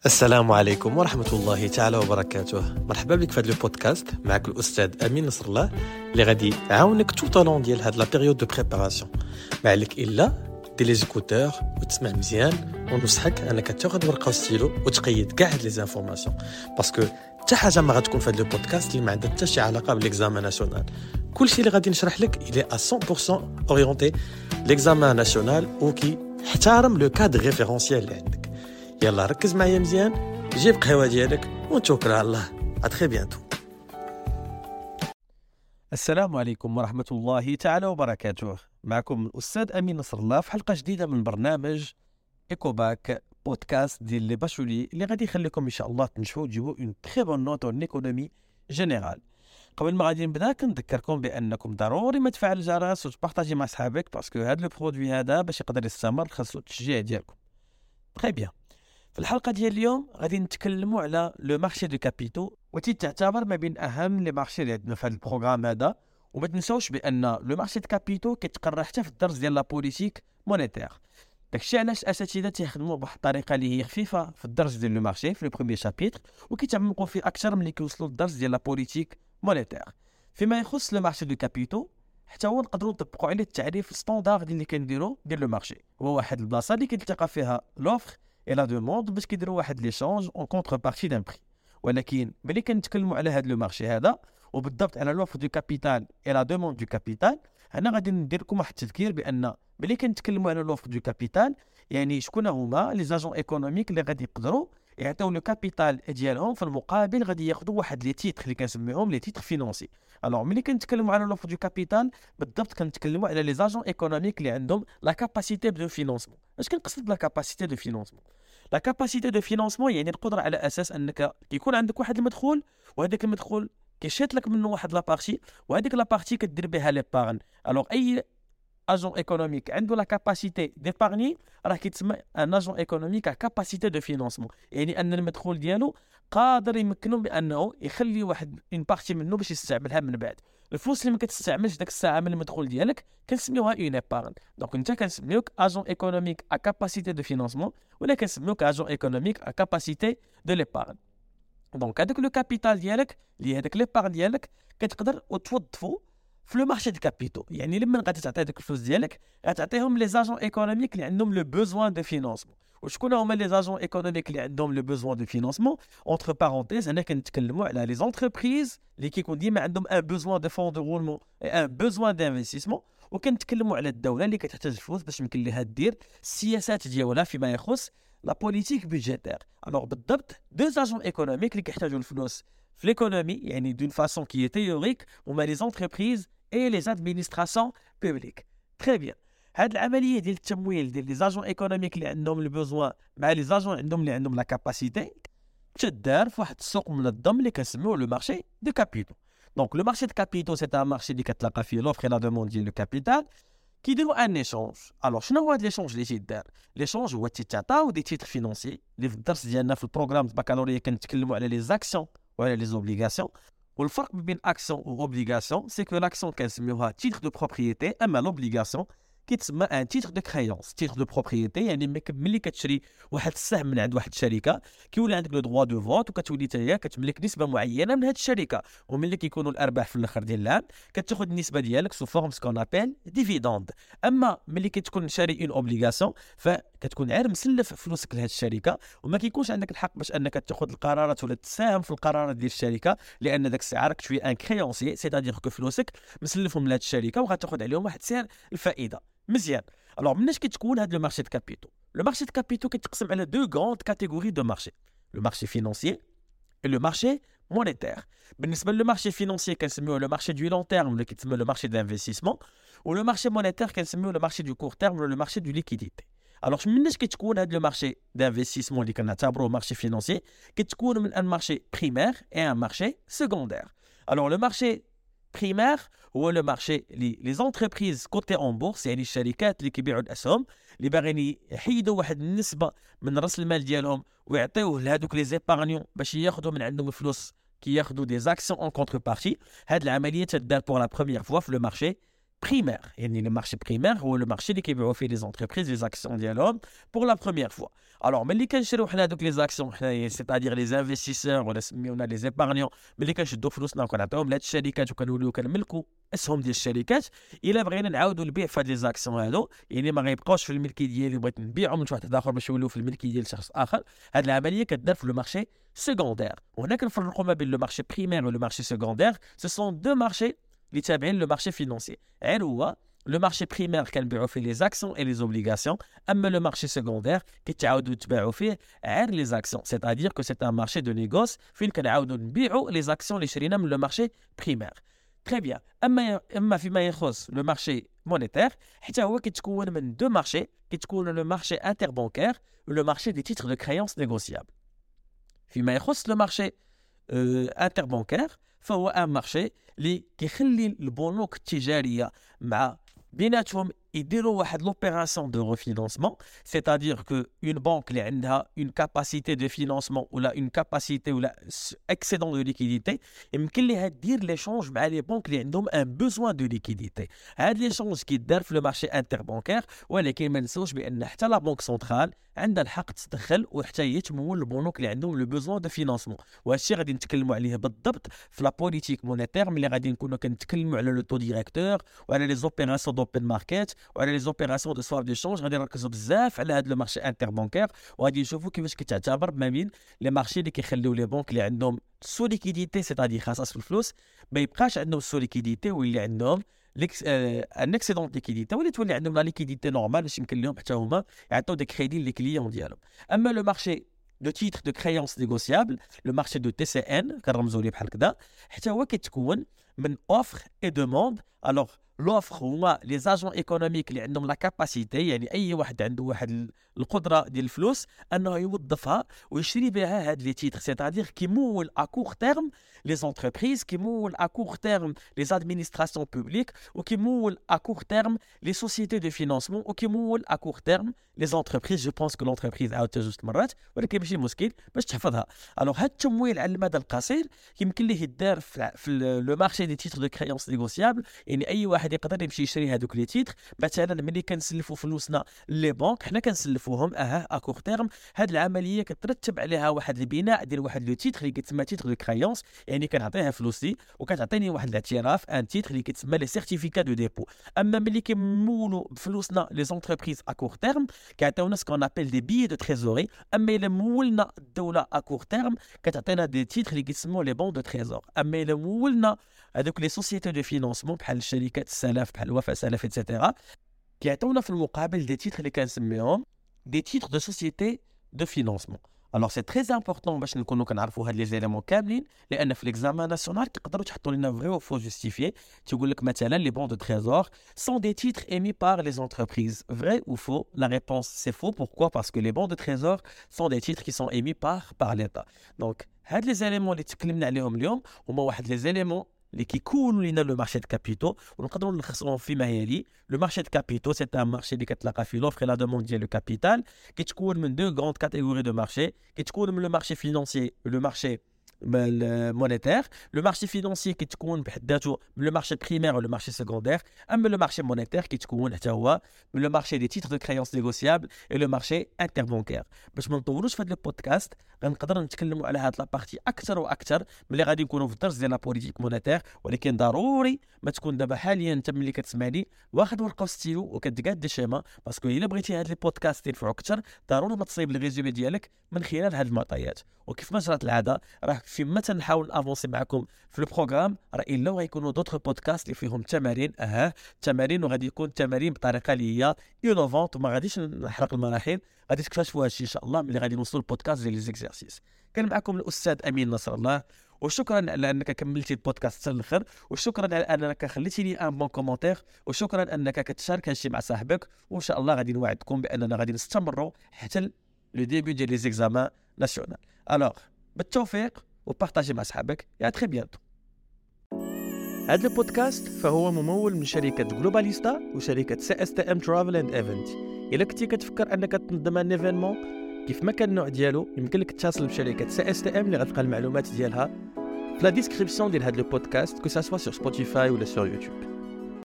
السلام عليكم ورحمة الله تعالى وبركاته. مرحبا بك في هذا البودكاست. معك الأستاذ أمين نصر الله اللي غادي يعاونك tout au long ديال هاد لا بيريود دو بريباراسيون. ما عليك إلا دير لي زيكوتور وتسمع مزيان، ونصحك أنك تاخذ ورقة وستيلو وتقيد كاع هاد لي زانفورماسيون، باسكو حتى حاجة ما غتكون في هاد البودكاست اللي ما عندها حتى شي علاقة بالإكزامان ناسيونال. كلشي اللي غادي نشرح لك إلي 100% أورينتي لإكزامان ناسيونال وكي احترم لو كادر ريفيرونسيال اللي عندك. يلا ركز معايا مزيان، جيب قهوة ديالك ونتوكل على الله. اتري بيانتو. السلام عليكم ورحمة الله تعالى وبركاته. معكم الأستاذ أمين نصر الله في حلقة جديدة من برنامج إيكوباك بودكاست ديال لي باشولي اللي غادي يخليكم إن شاء الله تنجحوا وتجيبوا اون تري بون نوت اون ايكونومي جينيرال. قبل ما غادي نبدا كنذكركم بأنكم ضروري ما تفعل الجرس وتبارطاجي مع صحابك، باسكو هذا لو برودوي هذا باش يقدر يستمر خاصو التشجيع ديالكم. تري بيان. في الحلقة ديال اليوم غادي نتكلموا على لو مارشي دو كابيتو، وتعتبر ما بين اهم لي مارشي اللي عندنا في هذا البروغرام هذا. وما تنساوش بان لو مارشي دو كابيتو كيتقرا حتى في الدرس ديال لا بوليتيك مونيتير. داكشي علاش الاساتذه تيخدموا بواحد الطريقه اللي هي خفيفه في الدرس ديال لو مارشي في لو بروميير شابيتر، وكيتعمقوا فيه اكثر ملي كيوصلوا للدرس ديال لا بوليتيك مونيتير. فيما يخص لو مارشي دو كابيتو حتى هو نقدروا نطبقوا عليه التعريف ستاندارد اللي كنديروا ديال لو مارشي، هو واحد البلاصه اللي كيلتقى فيها لوفر et la demande باش كيديروا واحد ليشانج اون كونتربارتي دان بري. ولكن ملي كنتكلموا على هذا لو مارشي هذا وبالضبط على لوفر دو كابيتال اي لا دوموند دو كابيتال، هنا غادي ندير لكم واحد التذكير بان ملي كنتكلموا على لوفر دو كابيتال يعني شكون هما لي زاجون ايكونوميك اللي غادي يقدروا يعطيو لو كابيتال ديالهم، في المقابل غادي ياخذوا واحد لي تيتر اللي كنسميهم لي تيتر فينانسي. الوغ ملي كنتكلموا على لوفر دو كابيتال بالضبط كنتكلموا على لي زاجون ايكونوميك اللي عندهم لا كاباسيتي دو فينانسمون. اش كنقصد بلا كاباسيتي دو فينانسمون؟ لا كاباسيتي دو فينانسمون يعني القدره على اساس انك يكون عندك واحد المدخول، وهذاك المدخول كيشيط لك منه واحد لابارتي، وهذيك لابارتي كدير بها لي بارن. الوغ اي اجون ايكونوميك عنده لا كاباسيتي ديبارني راه كيتسمى ان اجون ايكونوميك ا كاباسيتي دو فينانسمون، يعني ان المدخول ديالو قادر يمكنه بانه يخلي واحد اون بارتي منه باش يستعملها من بعد. الفلوس اللي ما كتستعملش داك الساعه من المدخول ديالك كنسميوها اون ايبارن. دونك انت كنسميوك اجون ايكونوميك ا كاباسيتي دو فينانسمون، ولا كنسميوك اجون ايكونوميك ا كاباسيتي دو ليبارن. دونك هذاك لو كابيتال ديالك اللي هذاك ليبارن ديالك كتقدر توظفو في لو مارشي دو كابيتو. يعني لما غادي تعطي داك الفلوس ديالك غتعطيهم لي زاجون ايكونوميك اللي عندهم لو بوزوان دو فينانسمون. وشكون هما لي زاجون ايكونوميك اللي عندهم لو بوزوان دو فينانسمون؟ اونتر بارونتيز هنا كنتكلموا على لي زونتربريز اللي كيكون ديما عندهم ان بوزوان دو فون دو رولمون اي ان بوزوان دانفستيسمون، وكنتكلموا على الدوله اللي كتحتاج الفلوس باش يمكن لها دير السياسات ديالها فيما يخص لا بوليتيك بيدجيتير. الوغ بالضبط دو زاجون ايكونوميك اللي كيحتاجوا الفلوس في ليكونومي يعني دون فاسون كي تيوريك هما لي زونتربريز et les administrations publiques. Très bien. هاد العمليه ديال التمويل ديال لي زاجون ايكونوميك اللي عندهم البوزوان مع لي زاجون عندهم اللي عندهم لا كاباسيتي تدار في واحد السوق منظم اللي كنسميوه لو مارشي دو كابيتو. دونك لو مارشي دو كابيتو سي ان مارشي اللي كتلاقى فيه لوفر لا دوموند ديال لو كابيتال كيديروا ان ايشونج. الوغ شنو هو هاد ليشونج اللي تيدار؟ ليشونج هو تيتعطاو دي تيتر فينانسي اللي في الدرس ديالنا في البروغرام البكالوريا كنتكلموا على لي زاكسيون وعلى لي زوبليغاسيون. والفرق بين اكسيون و اوبليغاسيون سي كو لاكسيون كنسميوها تيتر دو بروبريتي، اما لوبليغاسيون كيتسمى ان تيتر دو كريونس. تيتر دو بروبريتي يعني ملي كتشري واحد السهم من عند واحد الشركه كيولي عندك لو دروا دو فوت، وكتولي تاهي كتملك نسبه معينه من هذه الشركه، وملي كيكونوا الارباح في الاخر ديال العام كتاخذ النسبه ديالك سو فورم سكون ابل ديفيدوند. اما ملي كتكون شاري اون اوبليغاسيون فكتكون عار مسلف فلوسك لهذه الشركه، وما كيكونش عندك الحق باش انك تاخذ القرارات ولا تساهم في القرارات ديال الشركه، لان داك السعر كتشوي ان كريونسي سيتادير كو فلوسك مسلفهم لهذه الشركه وغتاخذ عليهم واحد سعر الفائده. مزيان. الوغ مناش كتكون هذا لو مارشي دو كابيتو؟ لو مارشي دو كابيتو كيتقسم على دو غروند كاتيجوري دو مارشي، لو مارشي فينانسيي et le marché monétaire. بالنسبه لو مارشي فينانسيي كنسميوه لو مارشي دو لون تيرم اللي كيتسمى لو مارشي دانفستيسمون، ولو مارشي مونيتير كنسميوه لو مارشي دو كور تيرم ولا لو مارشي دو ليكيديتي. الوغ مناش كتكون هذا لو مارشي دانفستيسمون اللي كنعتبروه مارشي فينانسيي؟ كتكون من ان مارشي بريمير اي ان مارشي سكوندير. الوغ لو مارشي بريمير هو لو مارشي لي زونتربريز كوتي اون بورس، يعني الشركات اللي كيبيعوا الاسهم اللي باغيين يحيدوا واحد النسبه من راس المال ديالهم ويعطيوه لهذوك لي زيبارنيون باش ياخذوا من عندهم الفلوس كياخذوا دي زاكسيون اون كونتربارتي. هاد العمليه تدار بور لا بروميير فوا في لو مارشي بريمير. يعني لو مارشي بريمير هو لو مارشي اللي كيبيعوا فيه لي زونتربريز لي زاكسيون ديالهم بور لا بروميير فوا. الوغ ملي كنشريو حنا دوك لي زاكسيون حنايا سيتادير لي انفستيسور ولا سميونا لي زيبارنيون، ملي كنشدو فلوسنا وكنعطيوهم لهاد الشركات وكنوليو كنملكو اسهم ديال الشركات، الا بغينا نعاودو البيع في هاد لي زاكسيون هادو يعني ما غيبقاوش في الملكيه ديالي بغيت نبيعهم لشي واحد اخر باش يوليو في الملكيه ديال شخص اخر. هاد العمليه كدار في لو مارشي سيكوندير، وهنا كنفرقوا ما بين لو مارشي بريمير و لو مارشي سيكوندير. سو سون دو مارشي اللي تابعين لو مارشي فينونسي. غير هو لو مارشي بريمير كنبيعوا فيه لي زاكسيون اي لي زوبليغاسيون، اما لو مارشي سيكوندير كيتعاودوا تباعوا فيه غير لي زاكسيون، سيتادير كو سي ان مارشي دو نيغوس فين كنعاودوا نبيعوا لي زاكسيون اللي شرينا من لو مارشي بريمير. تري بيان. اما فيما يخص لو مارشي مونيتير حتى هو كيتكون من دو مارشي، كيتكون لو مارشي انتر بانكير ولو مارشي دي تيتر دو كريونس نيغوسيابل. فيما يخص لو مارشي انتر بانكير فهو ان مارشي اللي كيخلي البنوك التجاريه مع بيناتهم يديروا واحد لوبيراسيون دو ريفينانسمون، سيتادير كو اون بانك اللي عندها اون كاباسيتي دو فينانسمون ولا اون كاباسيتي ولا اكسيدون دو ليكيديتي، يمكن ليها دير ليشونج مع لي بانك اللي عندهم ان بوزوان دو ليكيديتي. هاد ليشونج كيدار في لو مارشي انتر بانكير، ولكن ما نساوش بان حتى لا بانك سنترال عندها الحق تدخل وحتى هي تمول البنوك اللي عندهم لو بوزوان دو فينانسمون. وهادشي غادي نتكلموا عليه بالضبط في لا بوليتيك مونيتير، ملي غادي نكونوا كنتكلموا على لو تو ديريكتور وعلى لي زوبيراسيون دوبن ماركت وعلى لي زوبيراسيون دو سواب دو شونج. غادي نركزوا بزاف على هذا لو مارشي انتر بانكير، وغادي نشوفوا كيفاش كتعتبر ما بين لي مارشي اللي كيخليو لي بانك اللي عندهم سو ليكيديتي سيتادير خاصاس في الفلوس ما يبقاش عندهم سو ليكيديتي، واللي عندهم ان اكسيدون ليكيديتي ولا تولي عندهم لا ليكيديتي نورمال باش يمكن لهم حتى هما يعطيو دي كريدي لي كليون ديالهم. اما لو مارشي دو تيتر دو كريونس نيغوسيابل، لو مارشي دو تي سي ان كنرمزوا ليه بحال كذا، حتى هو كيتكون من اوفر اي دوموند. الوغ لوفر هما لي زاجون ايكونوميك اللي عندهم لا كاباسيتي، يعني اي واحد عنده واحد القدره ديال الفلوس انه يوظفها ويشري بها هاد لي تيتر، سيتادير كيمول ا كور تيرم لي زونتربريز، كيمول ا كور تيرم لي زادمينستراسيون بوبليك، وكيمول ا كور تيرم لي سوسيتي دو فينانسمون، وكيمول ا كور تيرم لي زونتربريز. جو بونس كو لونتربريز عاودتها جوج مرات ولكن ماشي مشكل باش تحفظها. الوغ هاد التمويل على المدى القصير يمكن ليه يدار في لو مارشي دي تيتر دو كريونس نيغوسيابل، يعني اي واحد يقدر يمشي يشري هذوك لي تيتر. مثلا ملي كنسلفوا فلوسنا لي بانك حنا كنسلفوهم ا كور تيرم، هاد العمليه كترتب عليها واحد البناء ديال واحد لو تيتر اللي كيتسمى تيتر دو كريونس، يعني كنعطيها فلوسي وكتعطيني واحد الاعتراف ان تيتر اللي كيتسمى لي سيرتيفيكا دو ديبو. اما ملي كيمولوا فلوسنا لي زونتربريز ا كور تيرم كيعطيونا سكون ابل دي بيي دو تريزوري، اما الا مولنا الدوله ا كور تيرم كتعطينا دي تيتر اللي كيتسموا لي بون دو تريزور. اما الا مولنا هذوك لي سوسيتي دو فينانسمون بحال الشركات السلف بحال وفاء سلف ايتترا كيعطيونا في المقابل دي تيتر اللي كنسميهم دي تيتر دو سوسيتي دو فينانسمون. الوغ سي تري امبورطون باش نكونوا كنعرفوا هاد لي زيليمون كاملين، لان في ليكزامان ناسيونال تقدروا تحطوا لنا فري و فو جوستيفيي. تيقول لك مثلا لي بون دو تريزور سون دي تيتر émis par les entreprises. Vrai ou faux? La réponse c'est faux. Pourquoi? Parce que les bons de trésor sont des titres qui sont émis par l'État. Donc هاد لي زيليمون اللي تكلمنا عليهم اليوم هما واحد لي زيليمون اللي كيكونوا لنا لو مارشي دو كابيتو، ونقدروا نلخصوهم فيما يلي. لو مارشي دو كابيتو سي ان مارشي اللي كتلاقى فيه لوفر لا دوموند ديال لو كابيتال، كيتكون من دو غروند كاتيجوري دو مارشي، كيتكون من لو مارشي فينانسي لو مارشي مونيتير. لو مارشي فينانسي كيتكون بحد ذاته من لو مارشي بريمير ولو مارشي سيكوندير، اما لو مارشي مونيتير كيتكون حتى هو من لو مارشي دي تيتر دو كريونس نيغوسيابل اي لو مارشي انتر بانكير. باش ما نطولوش في هذا البودكاست غنقدر نتكلموا على هاد لابارتي اكثر واكثر ملي غادي نكونوا في الدرس ديال لا بوليتيك مونيتير، ولكن ضروري ما تكون دابا حاليا انت ملي كتسمعني واخد ورقه وستيلو وكتقاد دي شيما، باسكو الا بغيتي هاد لي بودكاست ينفعوك اكثر ضروري ما تصايب الريزومي ديالك من خلال هاد المعطيات. وكيف ما جرت العاده راه فيما تنحاول افونسي معكم في البروغرام راه الا غيكونوا دوطخ بودكاست اللي فيهم تمارين تمارين، وغادي يكون تمارين بطريقه اللي هي انوفونت وما غاديش نحرق المراحل. غادي تكتشفوا هادشي ان شاء الله ملي غادي نوصلوا البودكاست ديال لي زيكزارسيس. كان معكم الاستاذ امين نصر الله، وشكرا على انك كملتي البودكاست حتى الاخر، وشكرا على انك خليتي لي ان بون كومونتير، وشكرا انك كتشارك هادشي مع صاحبك. وان شاء الله غادي نوعدكم باننا غادي نستمروا حتى لو ديبي ديال لي زيكزامان ناسيونال. الوغ بالتوفيق وبارطاجي مع صحابك. يا تري بيانتو. هذا البودكاست فهو ممول من شركة جلوباليستا وشركة CSTM Travel and Event. إلا كنتي كتفكر أنك تنظم ان ايفينمون كيف ما كان النوع ديالو يمكن لك تتصل بشركة CSTM اللي غتلقى المعلومات ديالها في لا ديسكريبسيون ديال هذا البودكاست كو سا سوا سور سبوتيفاي ولا سور يوتيوب.